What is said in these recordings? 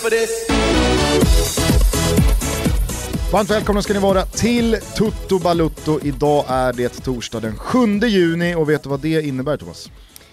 for this. Varmt välkomna ska ni vara till Tutto Balutto. Idag är det torsdag den 7 juni och vet du vad det innebär, Thomas?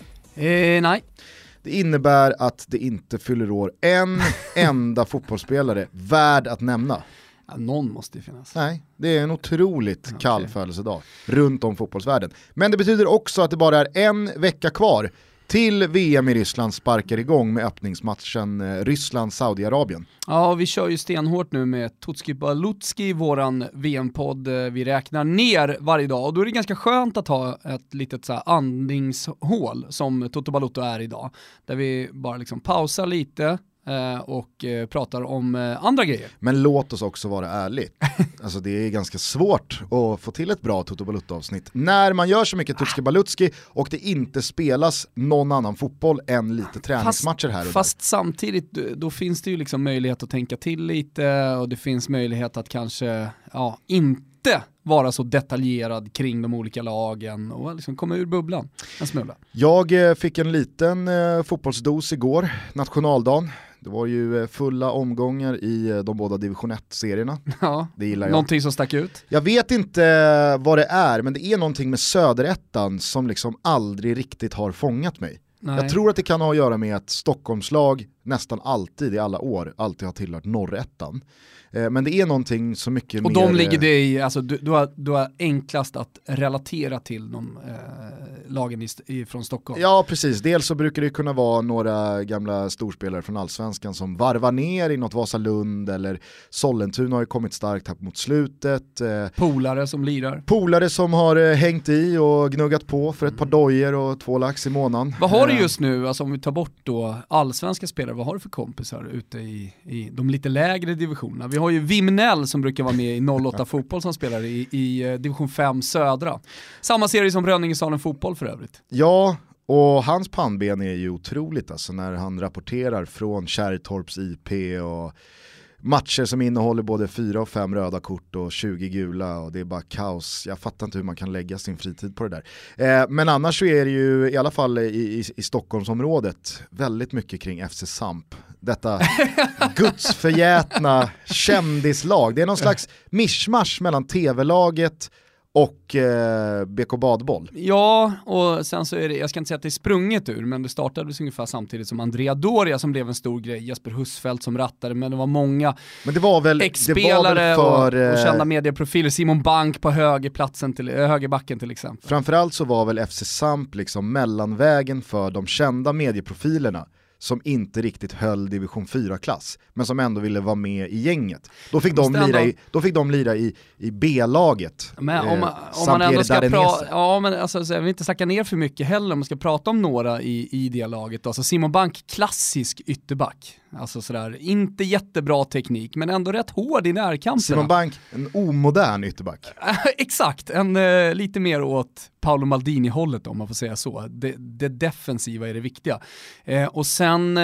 Nej. Det innebär att det inte fyller år en enda fotbollsspelare värd att nämna. Ja, någon måste ju finnas. Nej, det är en otroligt kall födelsedag runt om fotbollsvärlden. Men det betyder också att det bara är en vecka kvar till VM i Ryssland sparkar igång med öppningsmatchen Ryssland-Saudiarabien. Ja, vi kör ju stenhårt nu med Tutski Balutski, våran VM-podd. Vi räknar ner varje dag och då är det ganska skönt att ha ett litet så här andningshål som Tutto Balutto är idag. Där vi bara liksom pausar lite och pratar om andra grejer. Men låt oss också vara ärlig. Alltså det är ganska svårt att få till ett bra Tutto Balutto-avsnitt när man gör så mycket Tutski Balutski och det inte spelas någon annan fotboll än lite träningsmatcher här och där. Fast samtidigt då finns det ju liksom möjlighet att tänka till lite och det finns möjlighet att kanske inte vara så detaljerad kring de olika lagen och liksom komma ur bubblan en smula. Jag fick en liten fotbollsdos igår, nationaldagen. Det var ju fulla omgångar i de båda division 1-serierna. Ja, det gillar jag. Någonting som stack ut. Jag vet inte vad det är, men det är någonting med söderettan som liksom aldrig riktigt har fångat mig. Nej. Jag tror att det kan ha att göra med att Stockholmslag nästan alltid i alla år alltid har tillhört norrettan. Men det är någonting så mycket och mer... Och de ligger det i, alltså du har enklast att relatera till de lagen från Stockholm. Ja, precis. Dels så brukar det kunna vara några gamla storspelare från Allsvenskan som varvar ner i något Vasalund eller Sollentuna har ju kommit starkt här mot slutet. Polare som lirar. Polare som har hängt i och gnuggat på för ett par dojer och 2 lax i månaden. Vad har du just nu, alltså om vi tar bort då allsvenska spelare, vad har du för kompisar ute i de lite lägre divisionerna? Vi har ju Vimnell som brukar vara med i 08 fotboll som spelar i division 5 södra. Samma serie som Rönningesalen fotboll för övrigt. Ja, och hans pannben är ju otroligt alltså när han rapporterar från Kärrtorps IP och matcher som innehåller både 4 och 5 röda kort och 20 gula och det är bara kaos. Jag fattar inte hur man kan lägga sin fritid på det där. Men annars så är det ju i alla fall i Stockholmsområdet väldigt mycket kring FC Samp. Detta gudsförgätna kändislag. Det är någon slags mischmasch mellan tv-laget och BK Badboll. Ja, och sen så är det, jag ska inte säga att det är sprunget ur, men det startades ungefär samtidigt som Andrea Doria som blev en stor grej, Jesper Husfeldt som rattade, men det var många ex-spelare och kända medieprofiler, Simon Bank på högerbacken till exempel. Framförallt så var väl FC Samp liksom mellanvägen för de kända medieprofilerna som inte riktigt höll division 4-klass, men som ändå ville vara med i gänget. Då fick de lira i B-laget. Men om man ändå ska prata, men alltså, jag vill inte snacka ner för mycket heller om man ska prata om några i det laget. Alltså Simon Bank, klassisk ytterback. Alltså sådär, inte jättebra teknik, men ändå rätt hård i närkamperna. Simon Bank, en omodern ytterback. Exakt, lite mer åt Paolo Maldini-hållet om man får säga så. Det defensiva är det viktiga. Och sen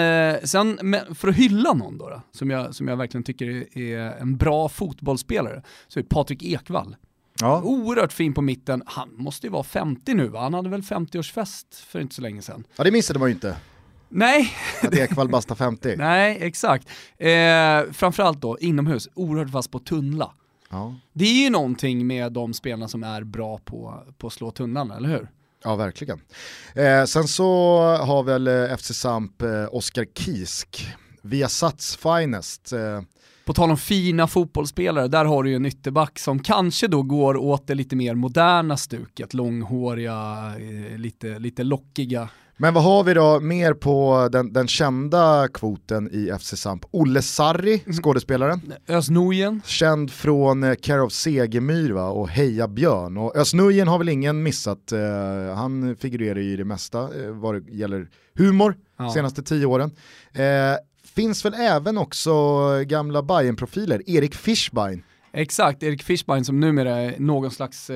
för att hylla någon då, som jag verkligen tycker är en bra fotbollsspelare, så är Patrik Ekvall. Ja. Oerhört fin på mitten. Han måste ju vara 50 nu, va? Han hade väl 50-årsfest för inte så länge sedan. Ja, det missade man ju inte. Nej. Att Ekvall basta 50. Nej, exakt. Framförallt då, inomhus, oerhört fast på tunnla. Ja. Det är ju någonting med de spelarna som är bra på att slå tunnlarna, eller hur? Ja, verkligen. Sen så har väl FC Samp Oskar Kisk, Viasats finest. På tal om fina fotbollsspelare, där har du ju en ytterback som kanske då går åt det lite mer moderna stuket, långhåriga, lite lockiga. Men vad har vi då mer på den kända kvoten i FC Samp? Olle Sarri, skådespelaren. Öznujen. Känd från Care of Segemyr, va? Och Heja Björn. Och Öznujen har väl ingen missat. Han figurerar i det mesta vad det gäller humor senaste 10 åren. Finns väl även också gamla Bayern-profiler. Erik Fischbein. Exakt, Erik Fischbein som numera är någon slags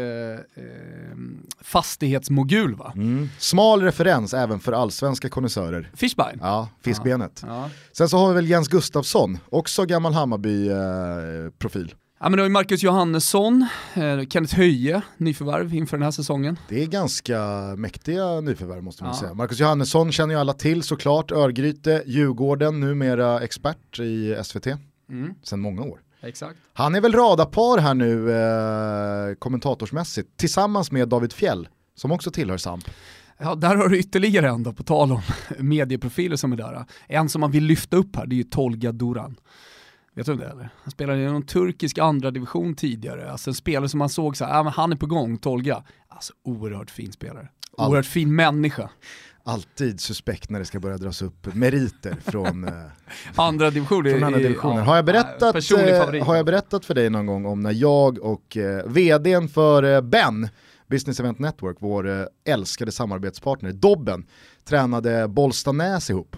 fastighetsmogul, va? Smal referens även för allsvenska konnässörer. Fischbein? Ja, fiskbenet. Ja. Sen så har vi väl Jens Gustafsson, också gammal Hammarby-profil. Ja, men det var ju Marcus Johannesson, Kenneth Höje, nyförvärv inför den här säsongen. Det är ganska mäktiga nyförvärv måste man säga. Marcus Johannesson känner ju alla till såklart, Örgryte, Djurgården, numera expert i SVT sedan många år. Exakt. Han är väl radarpar här nu kommentatorsmässigt tillsammans med David Fjell som också tillhör SAMP. Ja, där har du ytterligare en då, på tal om medieprofiler som är där. En som man vill lyfta upp här, det är ju Tolga Duran. Vet du det eller? Han spelade i någon turkisk andra division tidigare. Alltså en spelare som man såg så här, men han är på gång, Tolga. Alltså oerhört fin spelare. Oerhört fin människa. Alltid suspekt när det ska börja dras upp meriter från andra divisioner. Från andra divisioner. Ja, har jag berättat för dig någon gång om när jag och vdn för Ben, Business Event Network, vår älskade samarbetspartner, Dobben, tränade Bollstanäs ihop?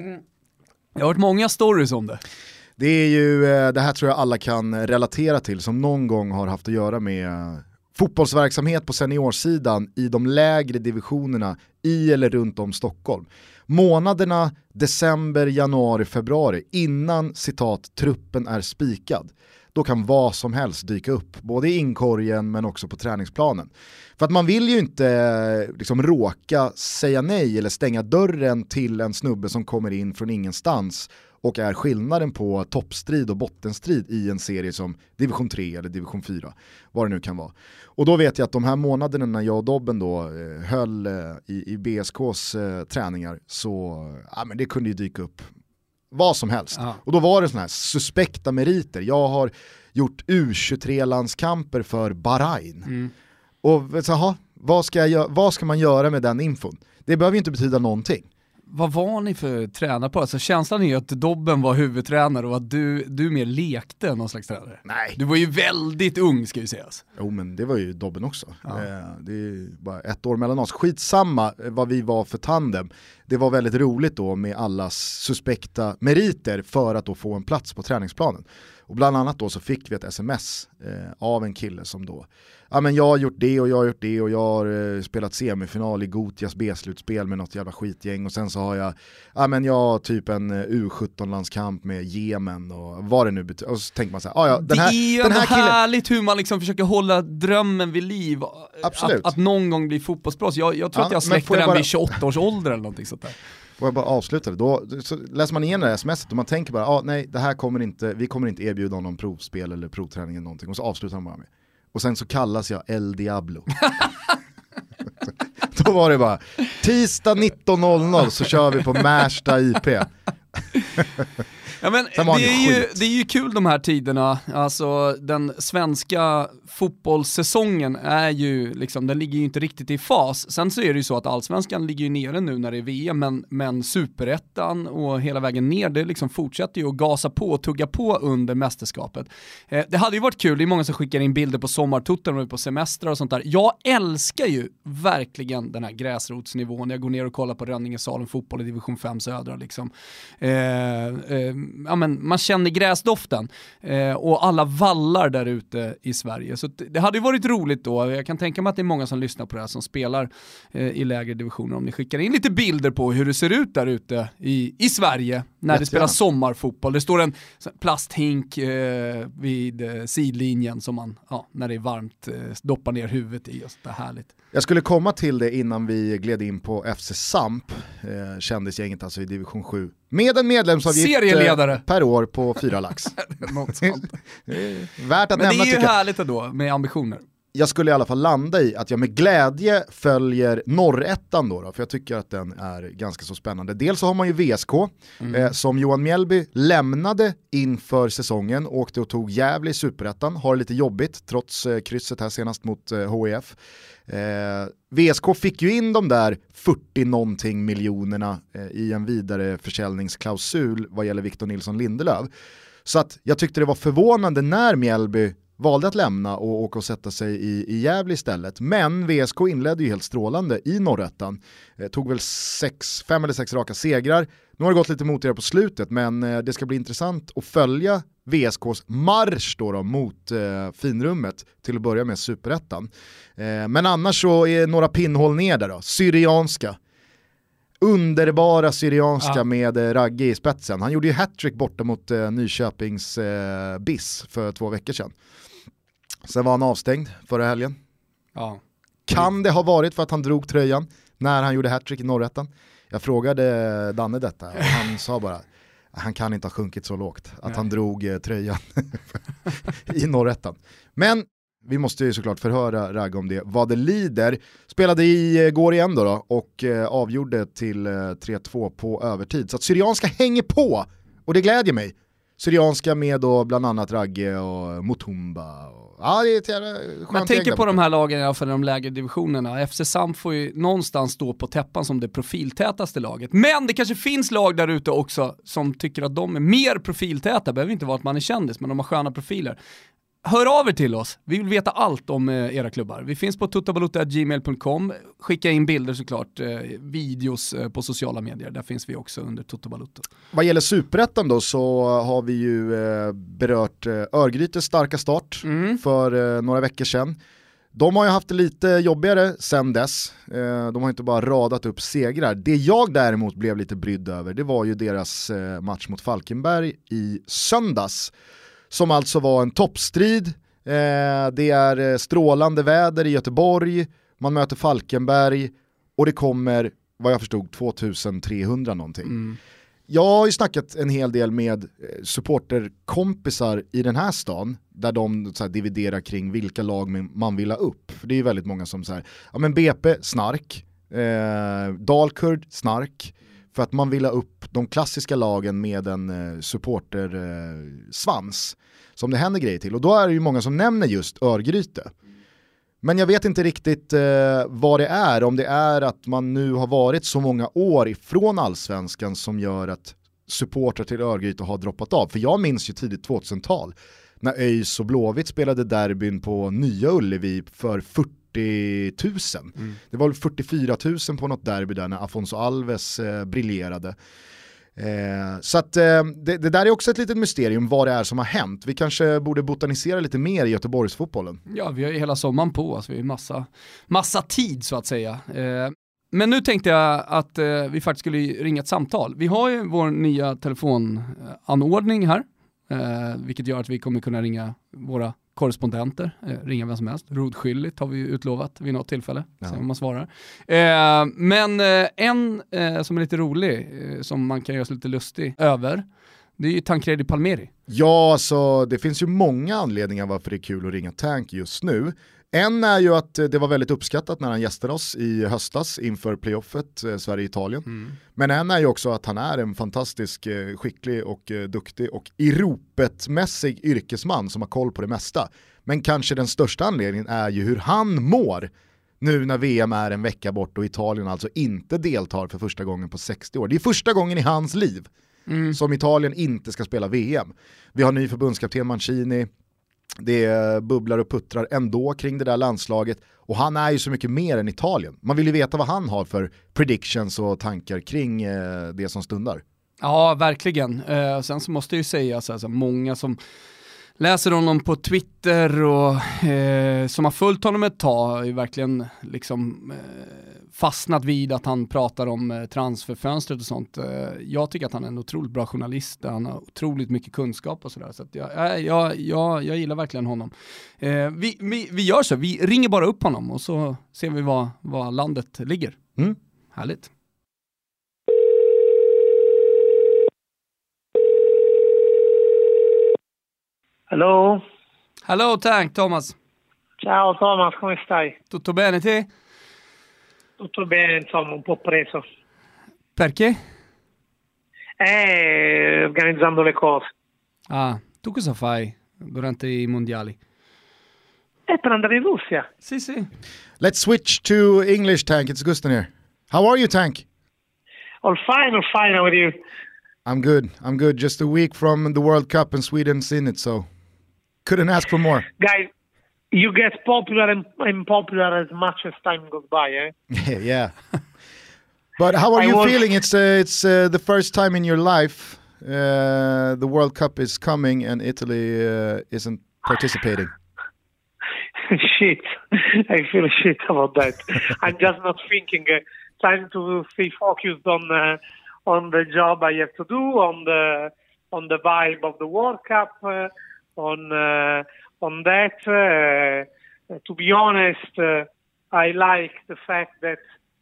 Jag har hört många stories om det. Det är ju, det här tror jag alla kan relatera till som någon gång har haft att göra med fotbollsverksamhet på seniorsidan i de lägre divisionerna i eller runt om Stockholm. Månaderna december, januari, februari innan citat truppen är spikad. Då kan vad som helst dyka upp, både i inkorgen men också på träningsplanen. För att man vill ju inte liksom råka säga nej eller stänga dörren till en snubbe som kommer in från ingenstans och är skillnaden på toppstrid och bottenstrid i en serie som division 3 eller division 4, vad det nu kan vara. Och då vet jag att de här månaderna när jag och Dobben då höll i BSKs träningar så men det kunde ju dyka upp vad som helst. Ja. Och då var det såna här suspekta meriter. Jag har gjort U23-landskamper för Bahrain. Och så, vad ska man göra med den infon? Det behöver ju inte betyda någonting. Vad var ni för tränare på? Alltså känslan är ju att Dobben var huvudtränare och att du mer lekte någon slags tränare. Nej. Du var ju väldigt ung, ska vi säga. Jo, men det var ju Dobben också. Ja. Det är bara ett år mellan oss. Skitsamma vad vi var för tandem. Det var väldigt roligt då med allas suspekta meriter för att då få en plats på träningsplanen. Och bland annat då så fick vi ett sms av en kille som då men jag har gjort det och jag har gjort det och jag har spelat semifinal i Gotias B-slutspel med något jävla skitgäng och sen så har jag jag har typ en U17-landskamp med Jemen och vad det nu betyder. Och så tänker man så här, det är ju den här härligt hur man liksom försöker hålla drömmen vid liv. Absolut. Att någon gång bli fotbollsproffs. Jag tror att jag släckte den vid 28 års ålder eller någonting sånt där. Får jag bara avsluta det? Då så läser man igen det här sms:et och man tänker bara, nej, det här vi kommer inte erbjuda någon provspel eller provträning eller någonting. Och så avslutar man bara med. Och sen så kallas jag El Diablo. Då var det bara, tisdag 19.00 så kör vi på Märsta IP. Ja, men det är ju kul de här tiderna. Alltså den svenska fotbollssäsongen är ju liksom, den ligger ju inte riktigt i fas. Sen så är det ju så att allsvenskan ligger ju nere nu när det är VM, men superettan och hela vägen ner, det liksom fortsätter ju att gasa på och tugga på under mästerskapet. Det hade ju varit kul, det är många som skickar in bilder på sommartutten och på semestrar och sånt där. Jag älskar ju verkligen den här gräsrotsnivån. Jag går ner och kollar på Rönningesalen fotboll i division 5 södra liksom. Man känner gräsdoften och alla vallar där ute i Sverige. Så det hade ju varit roligt då. Jag kan tänka mig att det är många som lyssnar på det här som spelar i lägre divisioner. Om ni skickar in lite bilder på hur det ser ut där ute i Sverige när det spelas sommarfotboll. Det står en plasthink vid sidlinjen som man, när det är varmt, doppar ner huvudet i. Och så där härligt. Jag skulle komma till det innan vi gled in på FC Samp, kändisgänget alltså i division 7. Med en medlemsavgift per år på 4 lax. Något sånt. Värt att men nämna, det är ju härligt ändå med ambitioner. Jag skulle i alla fall landa i att jag med glädje följer norrettan då, för jag tycker att den är ganska så spännande. Dels så har man ju VSK som Johan Mjällby lämnade inför säsongen, åkte och tog Gävle i superettan, har lite jobbigt trots krysset här senast mot HIF. VSK fick ju in de där 40-någonting miljonerna i en vidare försäljningsklausul vad gäller Victor Nilsson Lindelöf. Så att jag tyckte det var förvånande när Mjällby valde att lämna och åka och sätta sig i Gävle istället. Men VSK inledde ju helt strålande i norrettan. Tog väl 5 eller 6 raka segrar. Nu har det gått lite motigare på slutet, men det ska bli intressant att följa VSKs marsch då mot finrummet till att börja med superettan. Men annars så är några pinnhål ner där då. Syrianska. underbara Syrianska med Ragge i spetsen. Han gjorde ju hattrick borta mot Nyköpings BIS för 2 veckor sedan. Sen var han avstängd förra helgen. Ja. Kan det ha varit för att han drog tröjan när han gjorde hattrick i Norrätten? Jag frågade Danne detta och han sa bara han kan inte ha sjunkit så lågt att han drog tröjan i Norrätten. Men vi måste ju såklart förhöra Ragge om det. Vad det lider. Spelade igår igen då och avgjorde till 3-2 på övertid. Så att Syrianska hänger på och det glädjer mig. Syrianska med då bland annat Ragge och Mutumba. Ja, det är ett jävla skönt. Man tänker på de här lagen i alla fall, de lägre divisionerna. FC Samp får ju någonstans stå på täppan som det profiltätaste laget. Men det kanske finns lag där ute också som tycker att de är mer profiltäta. Behöver inte vara att man är kändis, men de har sköna profiler. Hör av er till oss. Vi vill veta allt om era klubbar. Vi finns på totobalutta@gmail.com. Skicka in bilder såklart, videos på sociala medier. Där finns vi också under Totobalutta. Vad gäller Superettan då så har vi ju berört Örgrytes starka start för några veckor sedan. De har ju haft det lite jobbigare sedan dess. De har inte bara radat upp segrar. Det jag däremot blev lite brydd över, det var ju deras match mot Falkenberg i söndags. Som alltså var en toppstrid. Det är strålande väder i Göteborg. Man möter Falkenberg. Och det kommer, vad jag förstod, 2300 någonting. Jag har ju snackat en hel del med supporterkompisar i den här stan. Där de så här, dividerar kring vilka lag man vill ha upp. För det är ju väldigt många som säger, ja men BP, snark. Dalkurd, snark. För att man vill ha upp de klassiska lagen med en supportersvans som det händer grejer till. Och då är det ju många som nämner just Örgryte. Men jag vet inte riktigt vad det är. Om det är att man nu har varit så många år ifrån allsvenskan som gör att supportrar till Örgryte har droppat av. För jag minns ju tidigt 2000-tal när ÖIS och Blåvitt spelade derbyn på Nya Ullevi för 40 000. Det var 44 000 på något derby där när Afonso Alves briljerade. Så att det där är också ett litet mysterium vad det är som har hänt. Vi kanske borde botanisera lite mer i Göteborgsfotbollen. Ja, vi har ju hela sommaren på oss. Vi har massa tid så att säga. Men nu tänkte jag att vi faktiskt skulle ringa ett samtal. Vi har ju vår nya telefonanordning här. Vilket gör att vi kommer kunna ringa våra korrespondenter, ringa vem som helst. Rodskyldigt har vi ju utlovat vid något tillfälle. Se om man svarar. Men en som är lite rolig, som man kan göra sig lite lustig över, det är ju Tancredi Palmieri. Ja, så det finns ju många anledningar varför det är kul att ringa Tank just nu. En är ju att det var väldigt uppskattat när han gästade oss i höstas inför playoffet Sverige-Italien. Men en är ju också att han är en fantastisk, skicklig och duktig och i ropetmässig yrkesman som har koll på det mesta. Men kanske den största anledningen är ju hur han mår nu när VM är en vecka bort och Italien alltså inte deltar för första gången på 60 år. Det är första gången i hans liv som Italien inte ska spela VM. Vi har ny förbundskapten Mancini. Det bubblar och puttrar ändå kring det där landslaget och han är ju så mycket mer än Italien. Man vill ju veta vad han har för predictions och tankar kring det som stundar. Ja, verkligen. Sen så måste jag ju säga alltså, många som läser honom på Twitter och som har följt honom ett tag har ju verkligen liksom fastnat vid att han pratar om transferfönstret och sånt. Jag tycker att han är en otroligt bra journalist. Han har otroligt mycket kunskap och sådär. Så att jag gillar verkligen honom. Vi gör så. Vi ringer bara upp honom och så ser vi var landet ligger. Härligt. Hello. Hello Tank, Thomas. Ciao Thomas, come stai? Tutto bene te? Tutto bene, insomma, un po' preso. Perché? Organizzando le cose. Ah, tu cosa fai durante i mondiali? Per andare in Russia. Sì, sì. Let's switch to English, Tank. It's Gusten here. How are you, Tank? All fine, how are you? I'm good. Just a week from the World Cup and Sweden's in it, so couldn't ask for more. Guys, you get popular and unpopular as much as time goes by, eh? Yeah. But how are you feeling? It's the first time in your life the World Cup is coming and Italy isn't participating. Shit. I feel shit about that. I'm just not thinking trying to stay focused on the job I have to do, on the vibe of the World Cup, on that. To be honest, I like the fact that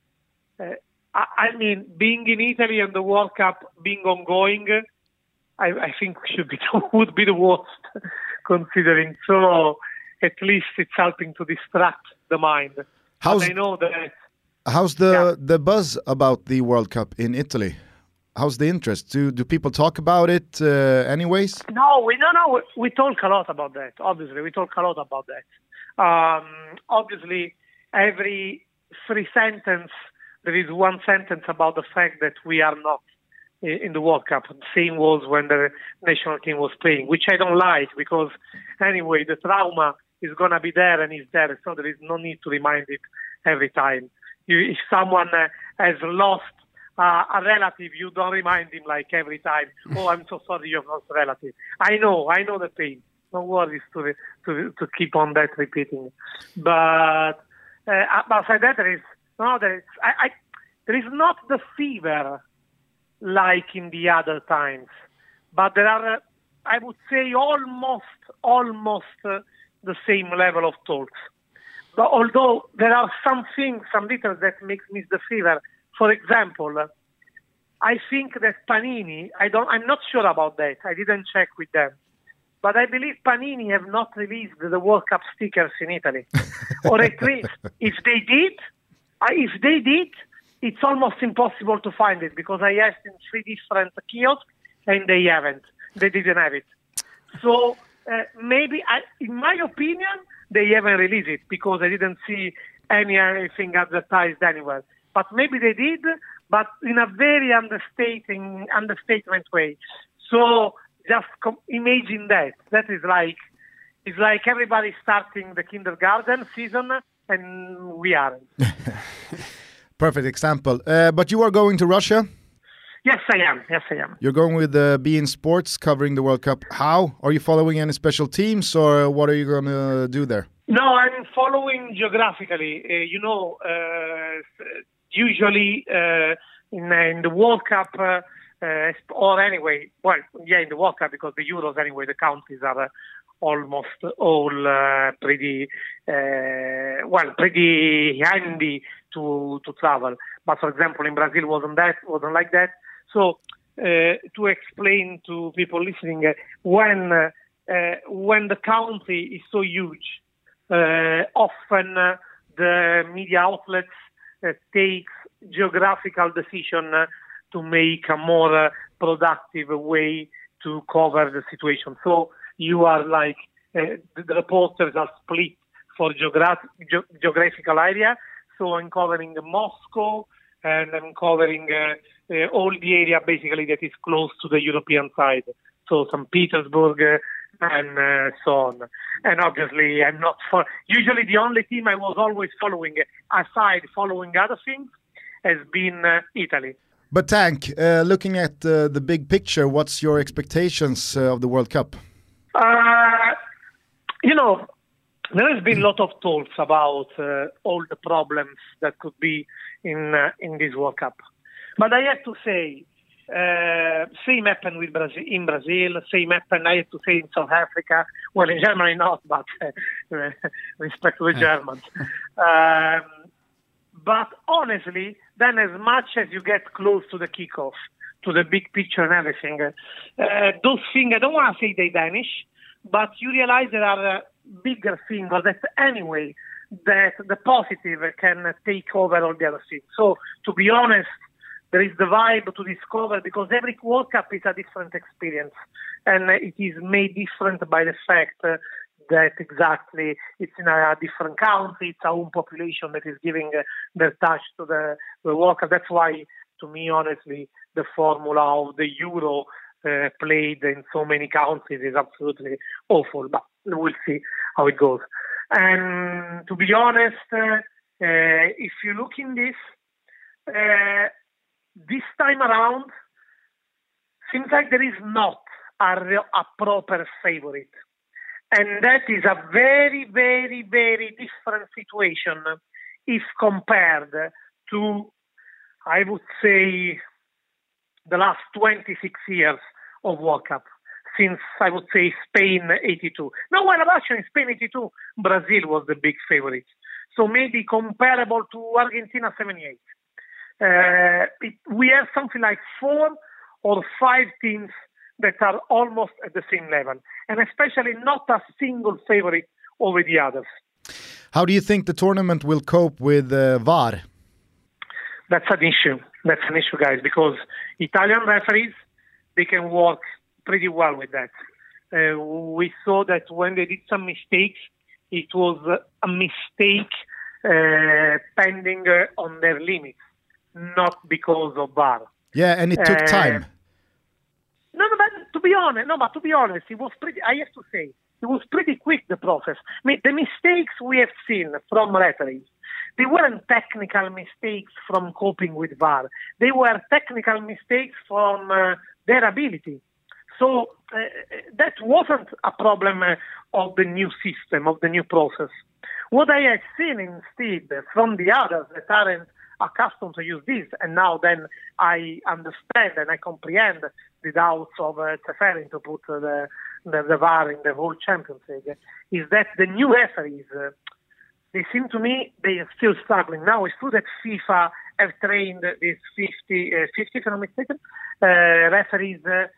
being in Italy and the World Cup being ongoing, I think would be the worst, considering. So at least it's helping to distract the mind. I know that. How's the buzz about the World Cup in Italy? How's the interest? Do people talk about it anyways? No, we talk a lot about that. Obviously, we talk a lot about that. Obviously, every 3 sentences, there is 1 sentence about the fact that we are not in the World Cup. The same was when the national team was playing, which I don't like, because anyway, the trauma is going to be there and is there, so there is no need to remind it every time. If someone has lost a relative, you don't remind him like every time, oh, I'm so sorry you have lost a relative. I know the pain. No worries to keep on that repeating. But aside that, there is not the fever like in the other times, but there are, I would say, almost the same level of talks. But although there are some details that makes miss the fever. For example, I think that Panini, I'm not sure about that. I didn't check with them. But I believe Panini have not released the World Cup stickers in Italy. Or at least, if they did, it's almost impossible to find it, because I asked in 3 different kiosks and they didn't have it. So maybe, in my opinion, they haven't released it because I didn't see anything advertised anywhere. But maybe they did, but in a very understatement way. So just imagine that. That is it's like everybody starting the kindergarten season and we aren't. Perfect example. But you are going to Russia? Yes, I am. You're going with beIN Sports, covering the World Cup. How? Are you following any special teams, or what are you going to do there? No, I'm following geographically. Usually in the World Cup, or anyway, in the World Cup, because the Euros anyway, the countries are almost all pretty handy to travel. But for example, in Brazil wasn't like that. So to explain to people listening, when the country is so huge, often the media outlets takes geographical decision to make a more productive way to cover the situation. So you are like the reporters are split for geographical area. So I'm covering Moscow and I'm covering all the area basically that is close to the European side. So St. Petersburg and so on. And obviously I'm not usually the only team I was always following, aside following other things, has been Italy. But Tank, looking at the big picture, what's your expectations of the World Cup? There has been a lot of talks about all the problems that could be in this World Cup. But I have to say, same happened in Brazil, same happened, I have to say, in South Africa. Well, in Germany not, but respect to the Germans. But honestly, then as much as you get close to the kickoff, to the big picture and everything, those things, I don't want to say they vanish, but you realize there are bigger things that anyway, that the positive can take over all the other things. So to be honest, there is the vibe to discover, because every World Cup is a different experience, and it is made different by the fact that exactly it's in a different country, it's our own population that is giving their touch to the World Cup. That's why, to me, honestly, the formula of the Euro played in so many countries is absolutely awful, but we'll see how it goes. And to be honest, if you look in this time around, seems like there is not a proper favorite. And that is a very, very, very different situation if compared to I would say the last 26 years of World Cup, since I would say Spain 82. No, well, actually in Spain 82, Brazil was the big favorite. So maybe comparable to Argentina 78. We have something like 4 or 5 teams that are almost at the same level, and especially not a single favorite over the others. How do you think the tournament will cope with VAR? That's an issue. That's an issue, guys, because Italian referees, they can work pretty well with that. We saw that when they did some mistakes, it was a mistake pending on their limits, not because of VAR. Yeah, and it took time. But to be honest, it was pretty. I have to say, it was pretty quick, the process. I mean, the mistakes we have seen from referees, they weren't technical mistakes from coping with VAR. They were technical mistakes from their ability. So that wasn't a problem of the new system, of the new process. What I have seen instead from the others that aren't accustomed to use this, and now then I understand and I comprehend the doubts of preferring to put the VAR in the whole Champions League, is that the new referees, they seem to me they are still struggling. Now it's true that FIFA have trained these 50 if I'm not mistaken, referees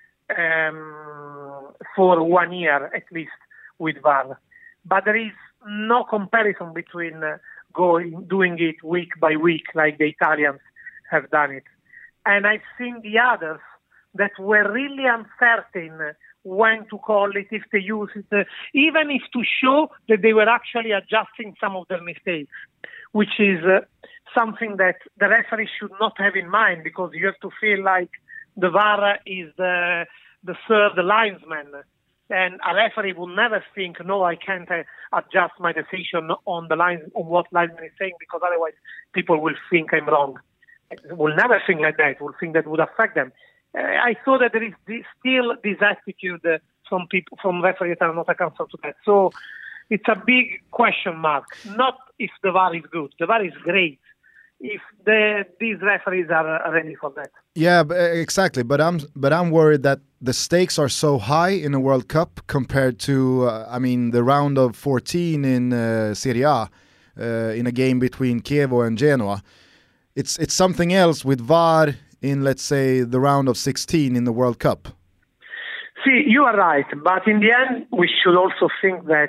for 1 year at least with VAR. But there is no comparison between doing it week by week like the Italians have done it. And I've seen the others that were really uncertain when to call it, if they use it, even if to show that they were actually adjusting some of their mistakes, which is something that the referee should not have in mind, because you have to feel like the VAR is the third linesman. And a referee will never think, no, I can't adjust my decision on the line, on what linesman is saying, because otherwise people will think I'm wrong. Will never think like that. Will think that would affect them. I saw that there is still this attitude from people, from referees that are not accustomed to that. So it's a big question mark. Not if the VAR is good. The VAR is great. If these referees are ready for that. Yeah, exactly. But I'm worried that the stakes are so high in a World Cup compared to, the round of 14 in Serie A, in a game between Chievo and Genoa. It's something else with VAR in, let's say, the round of 16 in the World Cup. See, you are right. But in the end, we should also think that,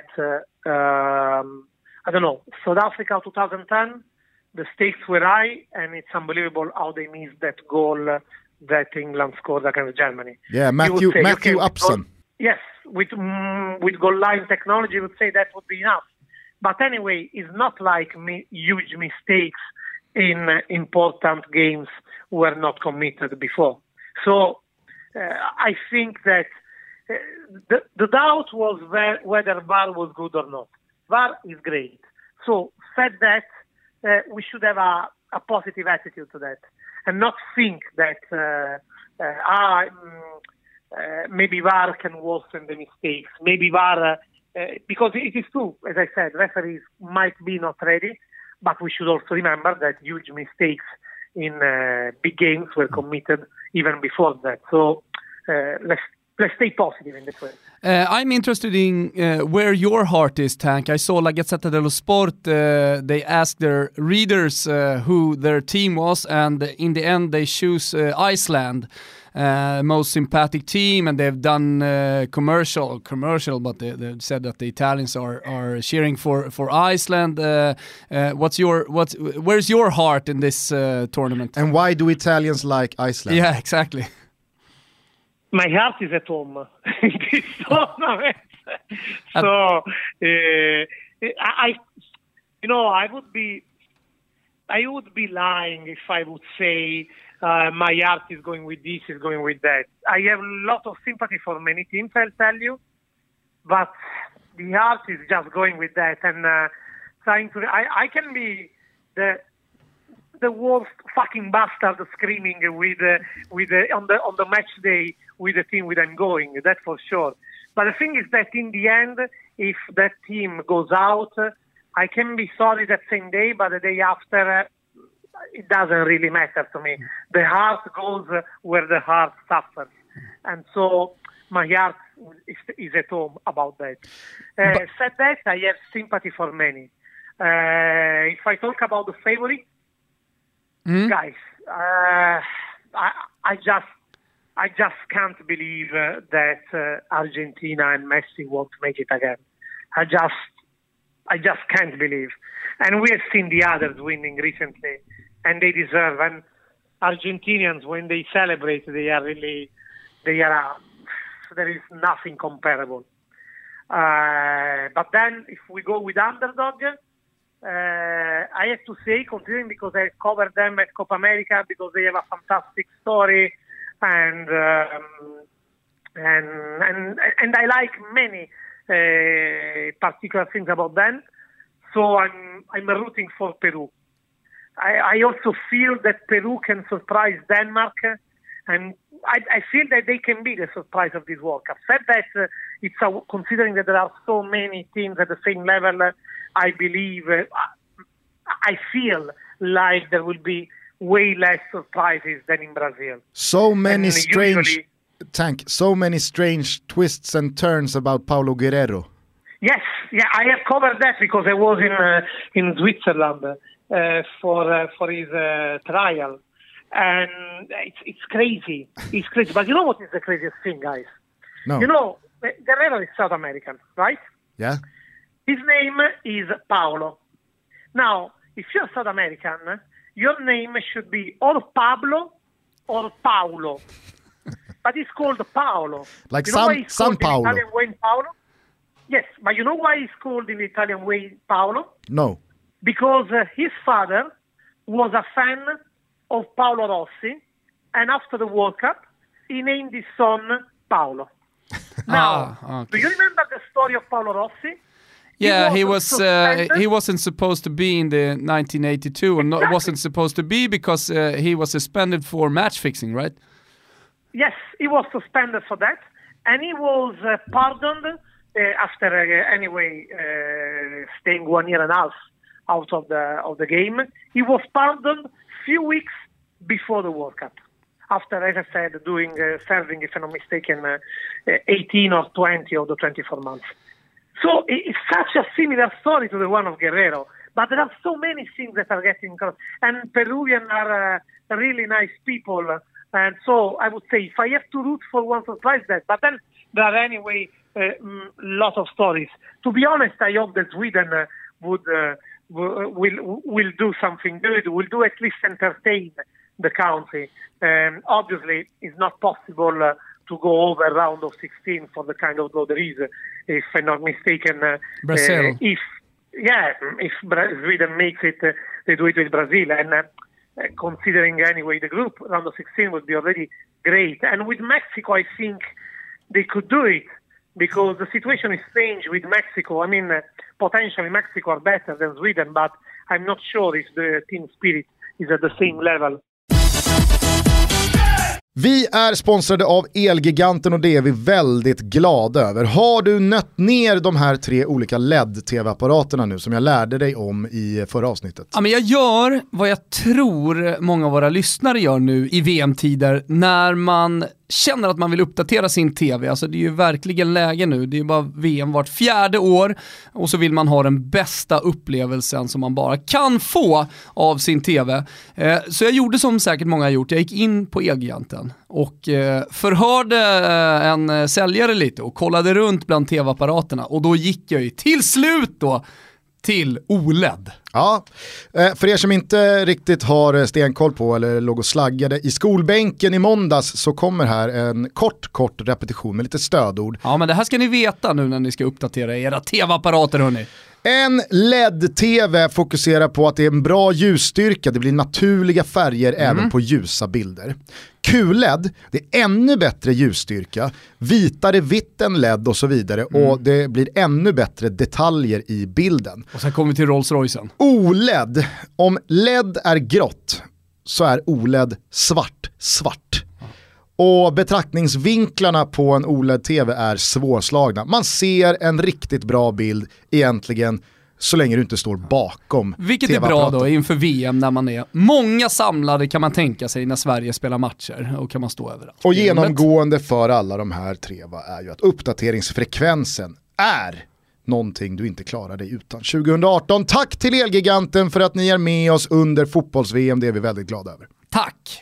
South Africa 2010, the stakes were high, and it's unbelievable how they missed that goal that England scored against Germany. Yeah, Matthew Upson. Yes, with goal line technology, you would say that would be enough. But anyway, it's not like huge mistakes in important games were not committed before. So I think that the doubt was whether VAR was good or not. VAR is great. So said that, we should have a positive attitude to that, and not think that maybe VAR can worsen the mistakes. Maybe VAR, because it is true, as I said, referees might be not ready, but we should also remember that huge mistakes in big games were committed even before that. So let's stay positive in this way. I'm interested in where your heart is, Tank. I saw La Gazzetta dello Sport, they asked their readers who their team was, and in the end they choose Iceland, most sympathetic team, and they've done commercial, but they said that the Italians are cheering for Iceland. Where's your heart in this tournament? And why do Italians like Iceland? Yeah, exactly. My heart is at home in this tournament. So I would be lying if I would say my heart is going with this, is going with that. I have a lot of sympathy for many teams, I'll tell you, but the heart is just going with that, and trying to. I can be the worst fucking bastard screaming on the match day with the team with I'm going, that's for sure. But the thing is that in the end, if that team goes out, I can be sorry that same day, but the day after, it doesn't really matter to me. The heart goes where the heart suffers. And so my heart is at home about that. Said that, I have sympathy for many. If I talk about the favorite, guys, I just can't believe that Argentina and Messi won't make it again. I just can't believe. And we have seen the others winning recently, and they deserve. And Argentinians, when they celebrate, there is nothing comparable. But then, if we go with underdog, I have to say, considering because I covered them at Copa America, because they have a fantastic story, and I like many particular things about them. So I'm rooting for Peru. I also feel that Peru can surprise Denmark, and I feel that they can be the surprise of this World Cup. Said that, considering that there are so many teams at the same level, I believe, I feel like there will be way less surprises than in Brazil. So many strange twists and turns about Paulo Guerrero. Yes, I have covered that because I was in Switzerland for his trial, and it's crazy. It's crazy. But you know what is the craziest thing, guys? No. You know, Guerrero is South American, right? Yeah. His name is Paulo. Now, if you're South American, your name should be or Pablo or Paulo. But it's called Paolo. Like you know San Paolo. In Italian way Paolo? Yes, but you know why he's called in the Italian way Paolo? No. Because his father was a fan of Paolo Rossi, and after the World Cup, he named his son Paolo. Now, okay. Do you remember the story of Paolo Rossi? Yeah, he wasn't supposed to be in the 1982, and Exactly. wasn't supposed to be because he was suspended for match fixing, right? Yes, he was suspended for that, and he was pardoned after staying 1 year and a half out of the game. He was pardoned few weeks before the World Cup, after, as I said, serving, if I'm not mistaken, 18 or 20 of the 24 months. So it's such a similar story to the one of Guerrero, but there are so many things that are getting crossed. And Peruvians are really nice people, and so I would say if I have to root for one surprise, that. But then there are anyway lot of stories. To be honest, I hope that Sweden will do something good. Will do at least entertain the country. Obviously, it's not possible to go over round of 16 for the kind of draw there is. If I'm not mistaken, Brazil. If Sweden makes it, they do it with Brazil. And considering anyway the group, round of 16 would be already great. And with Mexico, I think they could do it because the situation is strange with Mexico. I mean, potentially Mexico are better than Sweden, but I'm not sure if the team spirit is at the same level. Vi är sponsrade av Elgiganten och det är vi väldigt glada över. Har du nött ner de här 3 olika LED-tv-apparaterna nu som jag lärde dig om i förra avsnittet? Ja, men jag gör vad jag tror många av våra lyssnare gör nu i VM-tider när man känner att man vill uppdatera sin tv. Alltså det är ju verkligen läge nu. Det är ju bara VM vart 4:e år och så vill man ha den bästa upplevelsen som man bara kan få av sin tv. Så jag gjorde som säkert många har gjort. Jag gick in på Elgiganten och förhörde en säljare lite och kollade runt bland tv-apparaterna och då gick jag ju till slut då till OLED. Ja, för er som inte riktigt har stenkoll på eller låg och slaggade i skolbänken i måndags så kommer här en kort repetition med lite stödord. Ja, men det här ska ni veta nu när ni ska uppdatera era tv-apparater, hörni. En LED-tv fokuserar på att det är en bra ljusstyrka, det blir naturliga färger även på ljusa bilder. QLED, det är ännu bättre ljusstyrka, vitare vitt än LED och så vidare och det blir ännu bättre detaljer i bilden. Och sen kommer vi till Rolls-Roycen. OLED, om LED är grått så är OLED svart. Och betraktningsvinklarna på en OLED-tv är svårslagna. Man ser en riktigt bra bild egentligen Så länge du inte står bakom. Vilket är bra då inför VM när man är många samlade, kan man tänka sig, när Sverige spelar matcher, och kan man stå överallt. Och genomgående för alla de här tre är ju att uppdateringsfrekvensen är någonting du inte klarar dig utan. 2018, tack till Elgiganten för att ni är med oss under fotbolls-VM, det är vi väldigt glada över. Tack!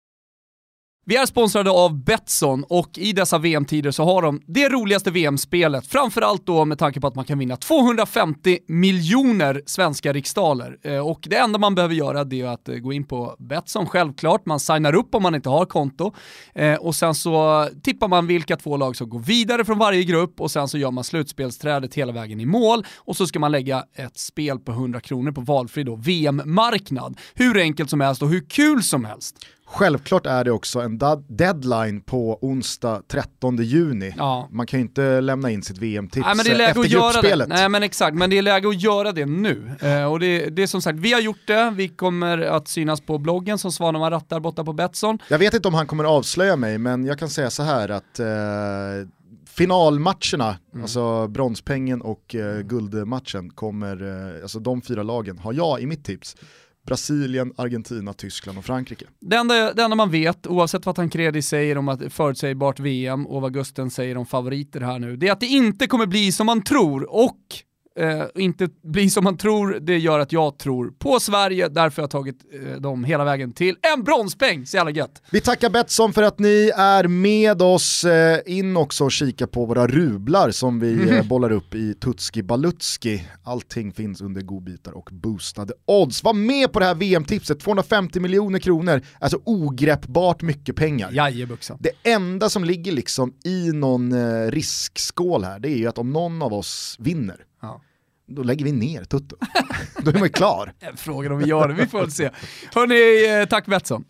Vi är sponsrade av Betsson, och i dessa VM-tider så har de det roligaste VM-spelet. Framförallt då med tanke på att man kan vinna 250 miljoner svenska riksdaler. Och det enda man behöver göra, det är att gå in på Betsson, självklart. Man signar upp om man inte har konto. Och sen så tippar man vilka 2 lag som går vidare från varje grupp, och sen så gör man slutspelsträdet hela vägen i mål. Och så ska man lägga ett spel på 100 kronor på valfri då VM-marknad. Hur enkelt som helst och hur kul som helst. Självklart är det också en deadline på onsdag 13 juni. Ja. Man kan ju inte lämna in sitt VM-tips efter gruppspelet. Nej, men exakt, men det är läge att göra det nu. Och det är som sagt, vi har gjort det. Vi kommer att synas på bloggen som Svanemar rattar borta på Betsson. Jag vet inte om han kommer avslöja mig, men jag kan säga så här att finalmatcherna, alltså bronspengen och guldmatchen kommer, alltså de 4 lagen har jag i mitt tips. Brasilien, Argentina, Tyskland och Frankrike. Det enda man vet, oavsett vad Tancredi säger om att förutsägbart VM och vad Gusten säger om favoriter här nu, det är att det inte kommer bli som man tror, och inte bli som man tror, det gör att jag tror på Sverige, därför har jag tagit dem hela vägen till en bronspeng, så jävla gött. Vi tackar Betsson för att ni är med oss. In också och kika på våra rublar som vi bollar upp i Tutski Balutski. Allting finns under godbitar och boostade odds. Var med på det här VM-tipset, 250 miljoner kronor, alltså ogreppbart mycket pengar. Jajebuxan. Det enda som ligger liksom i någon riskskål här, det är ju att om någon av oss vinner, då lägger vi ner Tutto. Då är man klar. Frågan om vi gör det, vi får väl se. Hörrni, tack Betsson.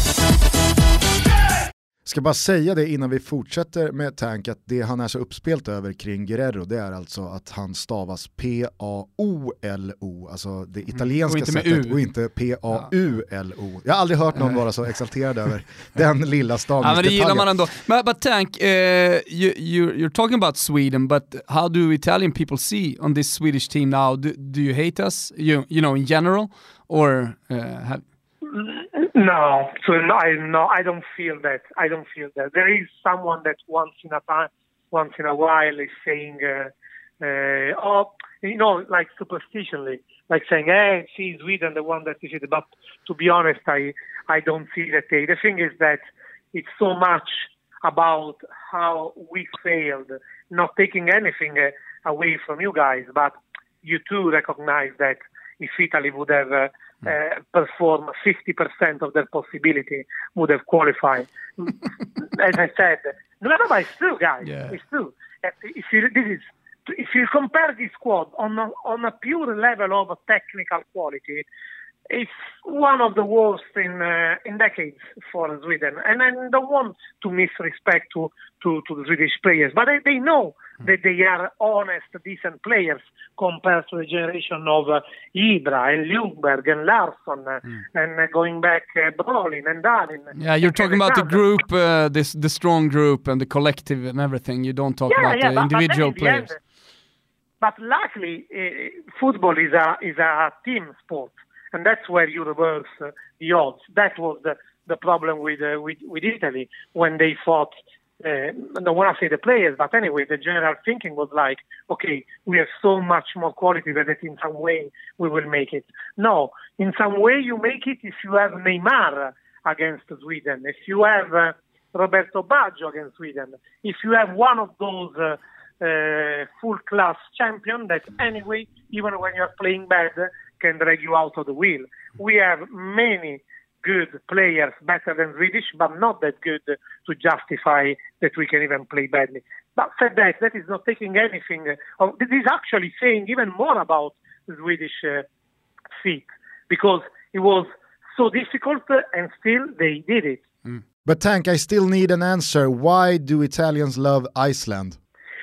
Ska bara säga det innan vi fortsätter med Tank, att det han är så uppspelt över kring Guerrero, det är alltså att han stavas P-A-O-L-O, alltså det italienska sättet, och inte P-A-U-L-O. Jag har aldrig hört någon vara så exalterad över den lilla stavningsdetaljen. Men det gillar man ändå. But Tank, you're talking about Sweden, but how do Italian people see on this Swedish team now? Do you hate us, you know, in general, or have... No, so I don't feel that. I don't feel that. There is someone that once in a while is saying, like superstitionally, like saying, "Hey, she's Sweden, the one that is it." But to be honest, I don't see that. The thing is that it's so much about how we failed, not taking anything away from you guys, but you too recognize that if Italy would have perform 50% of their possibility, would have qualified. As I said, no, but it's true, guys. Yeah. It's true. If you compare this squad on a pure level of technical quality, it's one of the worst in decades for Sweden. And I don't want to misrespect to the Swedish players, but they know that they are honest, decent players compared to the generation of Ibra and Ljungberg and Larsson and going back Brolin and Dahlin. Yeah, you're talking about the group, the strong group and the collective and everything. You don't talk about the individual players. But luckily, football is a team sport. And that's where you reverse the odds. That was the problem with Italy when they fought. I don't want to say the players, but anyway, the general thinking was like, okay, we have so much more quality that in some way we will make it. No, in some way you make it if you have Neymar against Sweden, if you have Roberto Baggio against Sweden, if you have one of those full-class champions that anyway, even when you're playing bad, can drag you out of the wheel. We have many good players, better than Swedish, but not that good to justify that we can even play badly. But said that is not taking anything. This is actually saying even more about the Swedish feat, because it was so difficult and still they did it. But Tank, I still need an answer. Why do Italians love Iceland?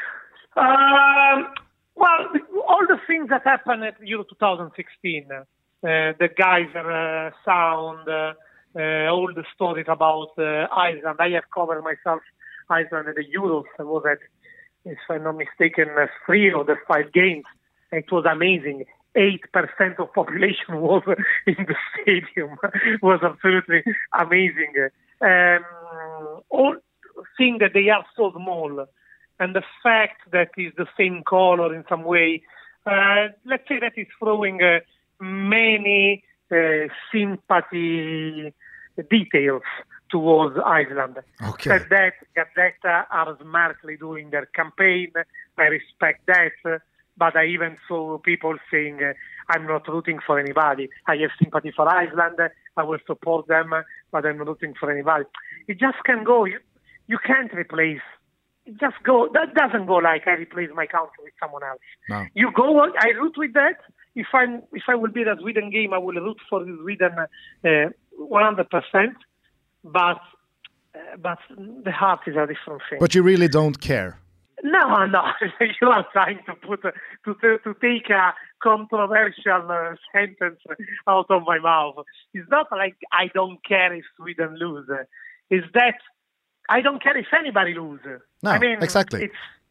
Well, all the things that happened at Euro 2016, the Geyser sound, all the stories about Iceland. I have covered myself Iceland at the Euros. I was at, if I'm not mistaken, 3 of the 5 games. It was amazing. 8% of population was in the stadium. Was absolutely amazing. All thing that they are so small, and the fact that is the same color in some way, let's say that is throwing many sympathy details towards Iceland. Okay. Said that Gazzetta are smartly doing their campaign. I respect that, but I even saw people saying, I'm not rooting for anybody. I have sympathy for Iceland. I will support them, but I'm not rooting for anybody. It just can go. You can't replace. It just go. That doesn't go like I replace my country with someone else. No. You go. I root with that. If I will be at a Sweden game, I will root for Sweden 100%. But the heart is a different thing. But you really don't care. No. You are trying to take a controversial sentence out of my mouth. It's not like I don't care if Sweden lose. It's that I don't care if anybody loses. No, I mean, exactly.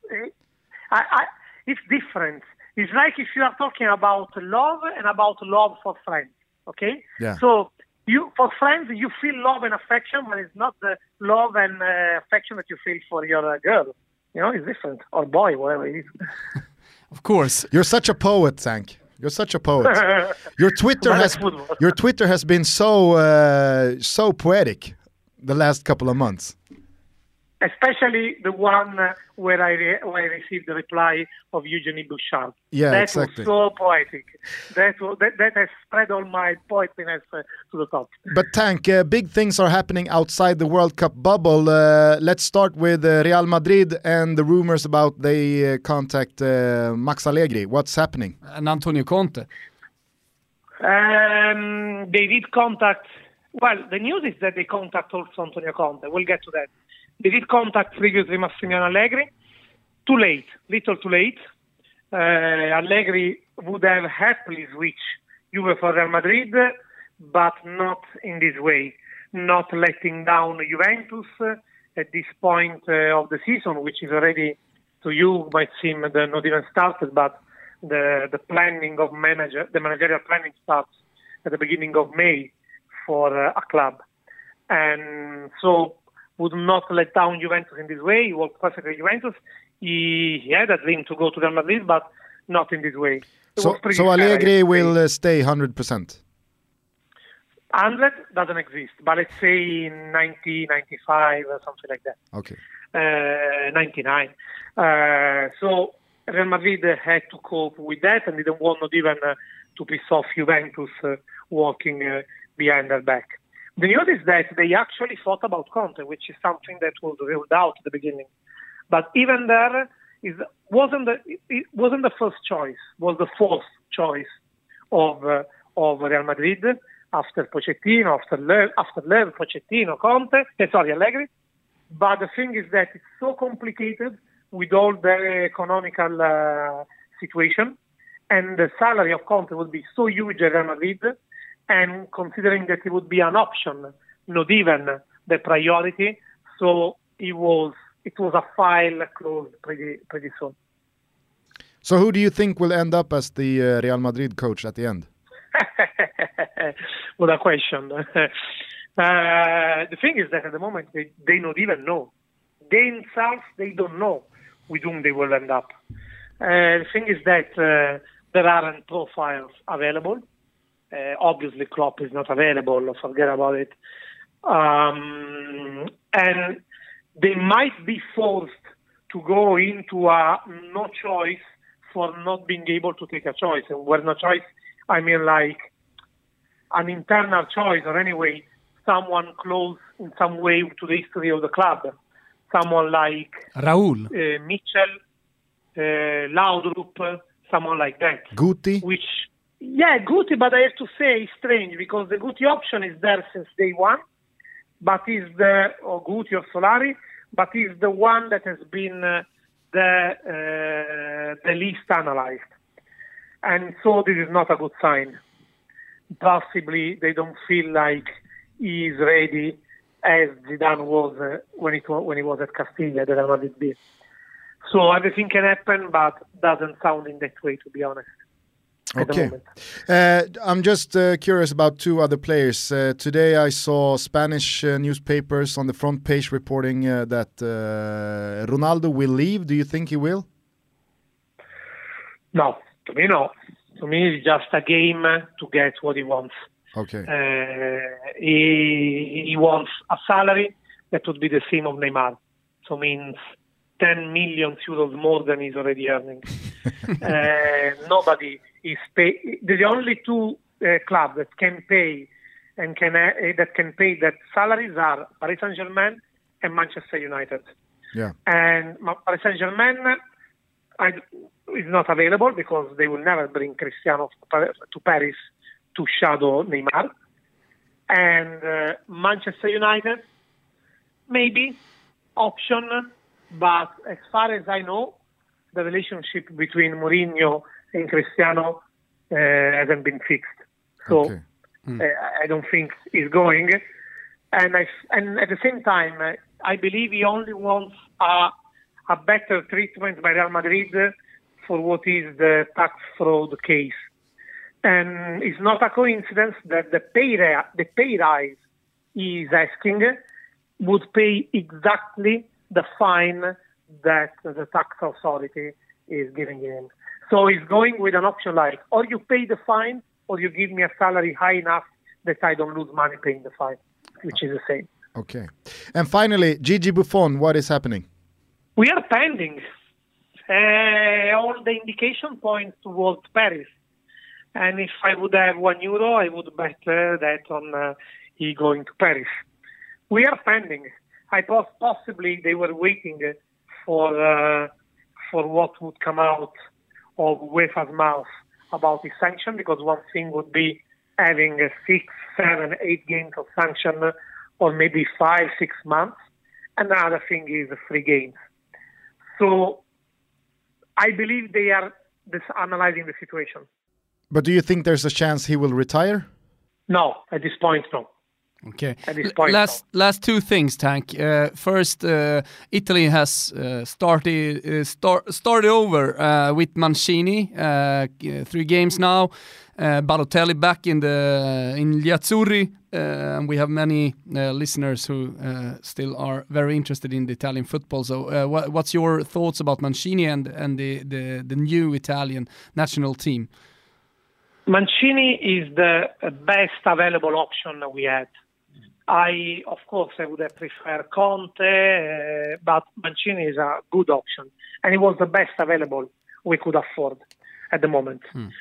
It's different. It's like if you are talking about love and about love for friends, okay? Yeah. So for friends, you feel love and affection, but it's not the love and affection that you feel for your girl. You know, it's different. Or boy, whatever it is. Of course. You're such a poet, Zank. You're such a poet. Your Twitter has been so poetic the last couple of months. Especially the one where I received the reply of Eugenie Bouchard. Yeah, that exactly. was so poetic. That has spread all my poetriness to the top. But Tank, big things are happening outside the World Cup bubble. Let's start with Real Madrid and the rumors about they contact Max Allegri. What's happening? And Antonio Conte. They did contact. Well, the news is that they contact also Antonio Conte. We'll get to that. They did contact previously Massimiliano Allegri. Too late, little too late. Allegri would have happily switched Juve for Real Madrid, but not in this way. Not letting down Juventus at this point of the season, which is already, to you, might seem not even started, but the planning of the managerial planning starts at the beginning of May for a club. And so would not let down Juventus in this way. He worked perfectly with Juventus. He had a dream to go to Real Madrid, but not in this way. So Allegri will stay 100%? 100 doesn't exist, but let's say 90, 95 or something like that. Okay. 99. So Real Madrid had to cope with that and didn't want not even to piss off Juventus walking behind their back. The news is that they actually thought about Conte, which is something that was ruled out at the beginning. But even there, it wasn't the first choice, was the fourth choice of Real Madrid after Pochettino, after Lev, Pochettino, Conte, Allegri. But the thing is that it's so complicated with all the economical situation, and the salary of Conte would be so huge at Real Madrid. And considering that it would be an option, not even the priority, so it was a file closed pretty soon. So who do you think will end up as the Real Madrid coach at the end? What a question. The thing is that at the moment they not even know. They themselves, they don't know with whom they will end up. The thing is that there aren't profiles available. Obviously, Klopp is not available. Forget about it. And they might be forced to go into a no choice for not being able to take a choice. And where no choice, I mean like an internal choice, or anyway, someone close in some way to the history of the club. Someone like Raúl, Mitchell, Laudrup, someone like that. Guti? Yeah, Guti, but I have to say it's strange because the Guti option is there since day one, but or Guti or Solari, but is the one that has been the least analyzed. And so this is not a good sign. Possibly they don't feel like he is ready as Zidane was when he was at Castilla, the Real Madrid B. So everything can happen, but doesn't sound in that way, to be honest. at the moment. I'm just curious about two other players. Today I saw Spanish newspapers on the front page reporting that Ronaldo will leave. Do you think he will? No, to me no. To me it's just a game to get what he wants. Okay. He wants a salary that would be the same of Neymar. So means 10 million euros more than he's already earning. Nobody is pay. The only two clubs that can pay and that can pay that salaries are Paris Saint-Germain and Manchester United. Yeah. And Paris Saint-Germain is not available because they will never bring Cristiano to Paris to shadow Neymar. And Manchester United, maybe option, but as far as I know, the relationship between Mourinho and Cristiano hasn't been fixed. So I don't think he's going. And at the same time, I believe he only wants a better treatment by Real Madrid for what is the tax fraud case. And it's not a coincidence that the pay rise he is asking would pay exactly the fine that the tax authority is giving him. So he's going with an option like, or you pay the fine, or you give me a salary high enough that I don't lose money paying the fine, which is the same. Okay. And finally, Gigi Buffon, what is happening? We are pending. All the indication points towards Paris. And if I would have €1, I would bet that on he going to Paris. We are pending. I thought possibly they were waiting for what would come out of UEFA's mouth about the sanction, because one thing would be having 6, 7, 8 games of sanction, or maybe 5, 6 months. And another thing is 3 games. So I believe they are analyzing the situation. But do you think there's a chance he will retire? No, at this point, no. Okay. At this point, last two things, Tank. First, Italy has started over with Mancini. 3 games now. Balotelli back in Gli Azzurri. And we have many listeners who still are very interested in the Italian football. So, what's your thoughts about Mancini and the new Italian national team? Mancini is the best available option we had. Of course, I would have preferred Conte, but Mancini is a good option. And it was the best available we could afford at the moment.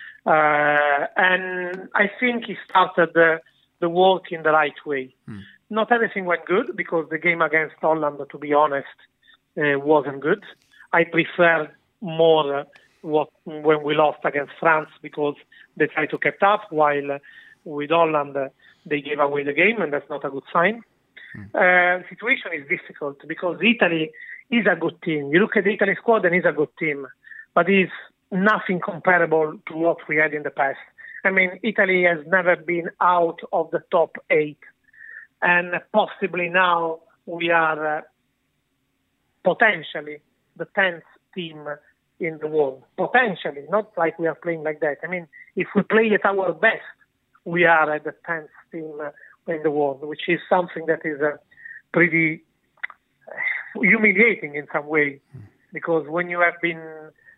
And I think he started the work in the right way. Not everything went good, because the game against Holland, to be honest, wasn't good. I preferred more when we lost against France, because they tried to keep up, while with Holland they gave away the game, and that's not a good sign. The situation is difficult because Italy is a good team. You look at the Italy squad and it's a good team, but it's nothing comparable to what we had in the past. I mean, Italy has never been out of the top 8, and possibly now we are potentially the 10th team in the world. Potentially, not like we are playing like that. I mean, if we play at our best, we are at the 10th team in the world, which is something that is pretty humiliating in some way, because when you have been,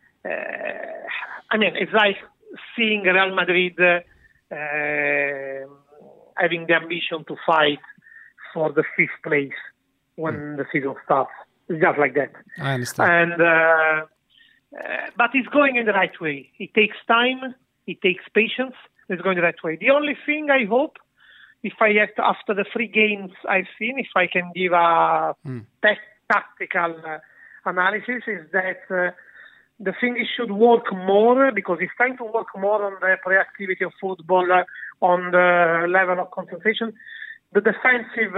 it's like seeing Real Madrid having the ambition to fight for the 5th place when the season starts. It's just like that. I understand. And but it's going in the right way. It takes time. It takes patience. It's going the right way. The only thing I hope, if I have to, after the 3 games I've seen, if I can give a tactical analysis, is that the thing is should work more, because it's time to work more on the reactivity of football, on the level of concentration, the defensive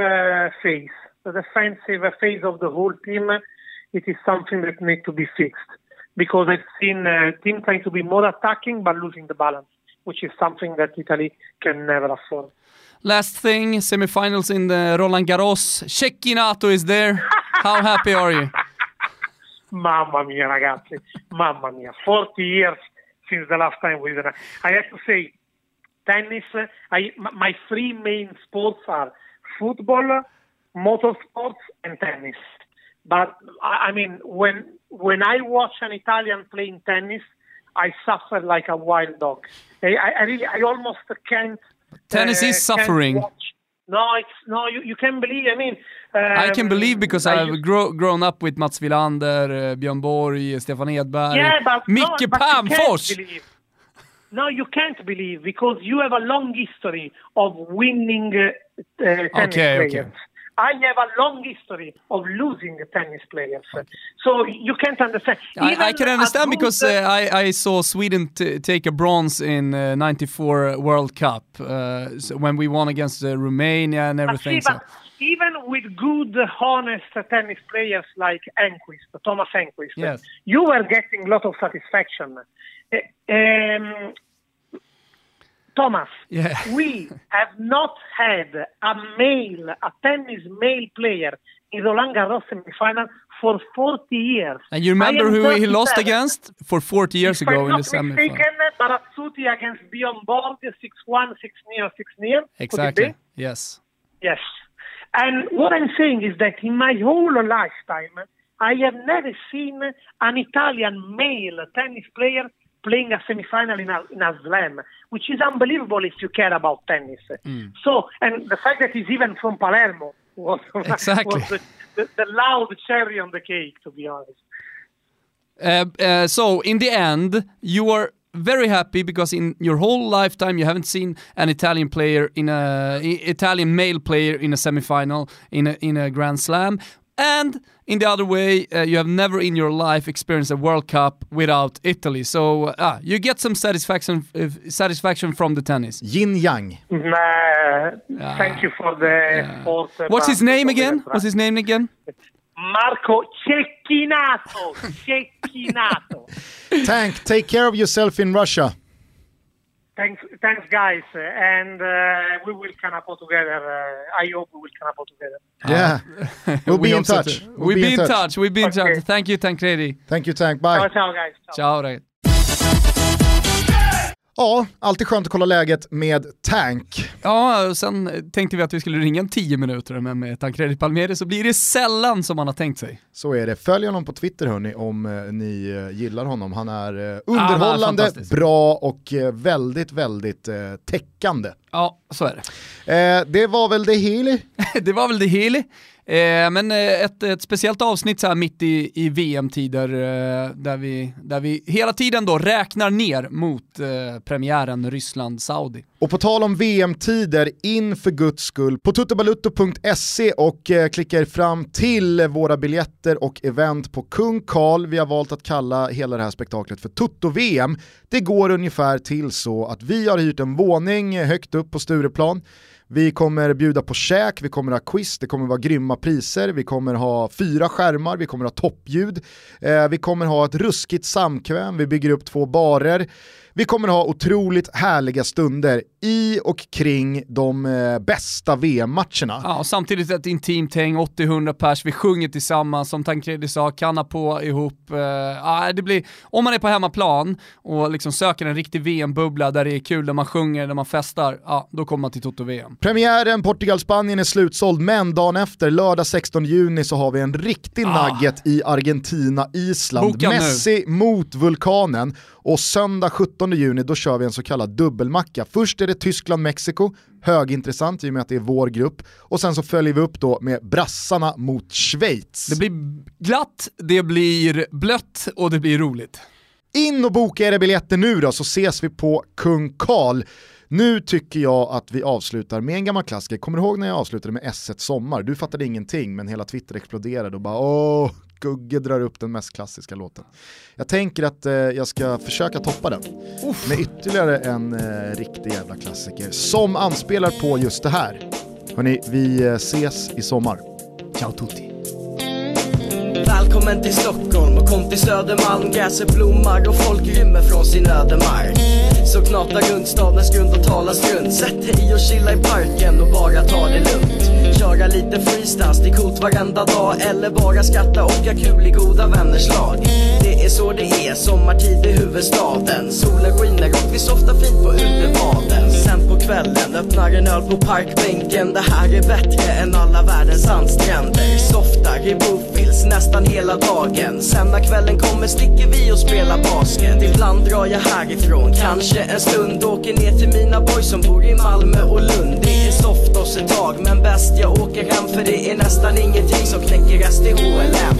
phase of the whole team. It is something that needs to be fixed, because I've seen teams trying to be more attacking but losing the balance, which is something that Italy can never afford. Last thing, semifinals in the Roland Garros. Cecchinato is there. How happy are you? Mamma mia, ragazzi. Mamma mia. 40 years since the last time we were. I have to say, tennis. My three main sports are football, motorsports, and tennis. But I mean, when I watch an Italian playing tennis, I suffer like a wild dog. I almost can't. Tennis is suffering. You can believe. I mean, I can believe because I've grown up with Mats Wilander, Björn Borg, Stefan Edberg, Micke Pamfors. No, you can't believe because you have a long history of winning tennis players. Okay. I have a long history of losing tennis players, so you can't understand. I can understand because I saw Sweden take a bronze in '94 World Cup when we won against Romania and everything. Even with good, honest tennis players like Thomas Enquist, yes, you were getting a lot of satisfaction. Thomas, we have not had a tennis male player in Roland Garros semi-final for 40 years. And you remember who he lost against for 40 years ago in the semi-final? Barazzuti against Björn Borg, 6-1, 6-0. Exactly, yes. Yes. And what I'm saying is that in my whole lifetime, I have never seen an Italian male tennis player playing a semi-final in a slam, which is unbelievable if you care about tennis. So, and the fact that he's even from Palermo was the loud cherry on the cake, to be honest. So, in the end, you are very happy because in your whole lifetime you haven't seen an Italian male player in a semi-final in a Grand Slam. And in the other way, you have never in your life experienced a World Cup without Italy. So you get some satisfaction from the tennis. Yin yang. Thank you for the support. What's his name again? Marco Cecchinato. Tank, take care of yourself in Russia. Thanks, guys, and we will Kanapo together. I hope we will Kanapo together. Yeah, we'll be in touch. We'll be in touch. Thank you, Tancredi. Thank you, Tank. Bye. Ciao, guys. Ciao. Ja, alltid skönt att kolla läget med Tank. Ja, och sen tänkte vi att vi skulle ringa 10 minuter, men med Tancredi Palmieri så blir det sällan som man har tänkt sig. Så är det. Följ honom på Twitter hörni om ni gillar honom. Han är underhållande, bra och väldigt, väldigt täckande. Ja, så är det. Det var väl det hela. Det var väl det hela. Men ett speciellt avsnitt så här mitt i VM-tider där vi hela tiden då räknar ner mot premiären Ryssland-Saudi. Och på tal om VM-tider, in för guds skull på tuttobalutto.se och klicka er fram till våra biljetter och event på Kung Karl. Vi har valt att kalla hela det här spektaklet för Tutto-VM. Det går ungefär till så att vi har hyrt en våning högt upp på Stureplan. Vi kommer bjuda på käk, vi kommer ha quiz, det kommer vara grymma priser, vi kommer ha 4 skärmar, vi kommer ha toppljud, vi kommer ha ett ruskigt samkväm, vi bygger upp 2 barer. Vi kommer ha otroligt härliga stunder i och kring de bästa VM-matcherna. Ja, och samtidigt ett intimt häng, 80-100 pers, vi sjunger tillsammans, som Tancredi sa, kanna på ihop. Det blir, om man är på hemmaplan och liksom söker en riktig VM-bubbla där det är kul, där man sjunger, där man festar, då kommer man till Toto-VM. Premiären Portugal-Spanien är slutsåld, men dagen efter, lördag 16 juni, så har vi en riktig nugget i Argentina-Island. Boka Messi nu mot vulkanen. Och söndag 17 juni då kör vi en så kallad dubbelmacka. Först är det Tyskland-Mexiko, högintressant i och med att det är vår grupp. Och sen så följer vi upp då med brassarna mot Schweiz. Det blir glatt, det blir blött och det blir roligt. In och boka era biljetter nu då, så ses vi på Kung Karl. Nu tycker jag att vi avslutar med en gammal klassiker. Kommer du ihåg när jag avslutade med S1 Sommar? Du fattade ingenting, men hela Twitter exploderade och bara Gugge drar upp den mest klassiska låten. Jag tänker att jag ska försöka toppa den med ytterligare en riktig jävla klassiker som anspelar på just det här. Hörrni, vi ses i sommar. Ciao tutti. Välkommen till Stockholm och kom till Södermalm. Gräset blommar och folk rymmer från sin ödemark. Så knata runt stadens grund och tala strunt. Sätt dig och chilla i parken och bara ta det lugnt. Kör köra lite freestyles, det är coolt varenda dag. Eller bara skratta och ha kul i goda vänners lag. Det är så det är, sommartid i huvudstaden. Solen skiner och vi softar fint på utebaden. Sen på kvällen öppnar en öl på parkbänken. Det här är bättre än alla världens sandstränder. Softar i Bofils nästan hela dagen. Sen när kvällen kommer sticker vi och spelar basket. Ibland drar jag härifrån, kanske en stund. Åker ner till mina boys som bor i Malmö och Lund. Det är soft oss ett tag, men bäst jag åker hem. För det är nästan ingenting som knäcker STHLM.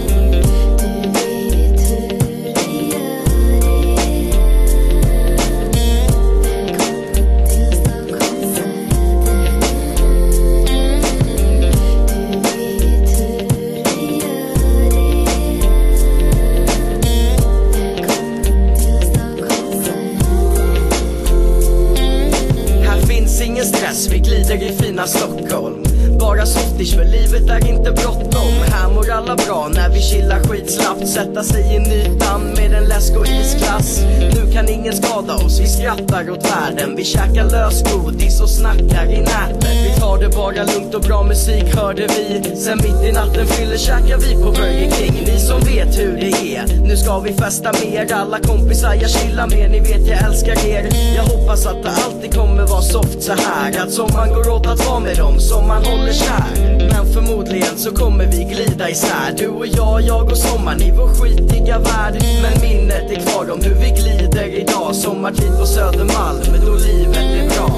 Vi glider i fina Stockholm. Bara softish för livet är inte bråttom. Här mår alla bra när vi chillar skitslappt. Sätta sig i nytan med en läsk och isglass. Nu kan ingen skada oss, vi skrattar åt världen. Vi käkar lösgodis och snackar i nätet. Vi tar det bara lugnt och bra musik hörde vi. Sen mitt i natten fyller käkar vi på Burger King. Ni som vet hur det är, nu ska vi festa mer. Alla kompisar jag chillar med, ni vet jag älskar er. Jag hoppas att det alltid kommer vara soft så här. Att sommaren går åt att vara med dem som man håller kär. Men förmodligen så kommer vi glida isär. Du och jag och sommaren i vår skitiga värld. Men minnet är kvar om hur vi glider idag. Sommartid på Södermalm, men då livet är bra.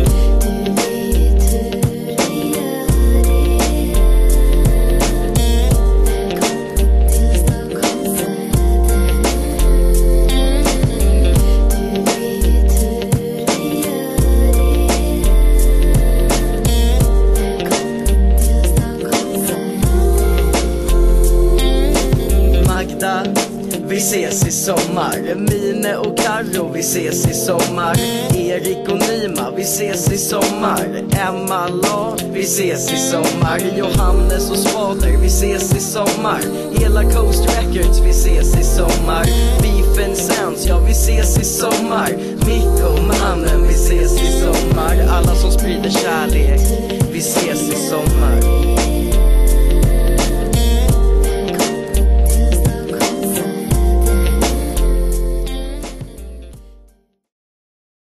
Vi ses i sommar. Mine och Karo, vi ses i sommar. Erik och Nima, vi ses i sommar. Emma La, vi ses i sommar. Johannes och Svader, vi ses i sommar. Hela Coast Records, vi ses i sommar. Beef and Sense, ja vi ses i sommar. Mikko och mannen, vi ses i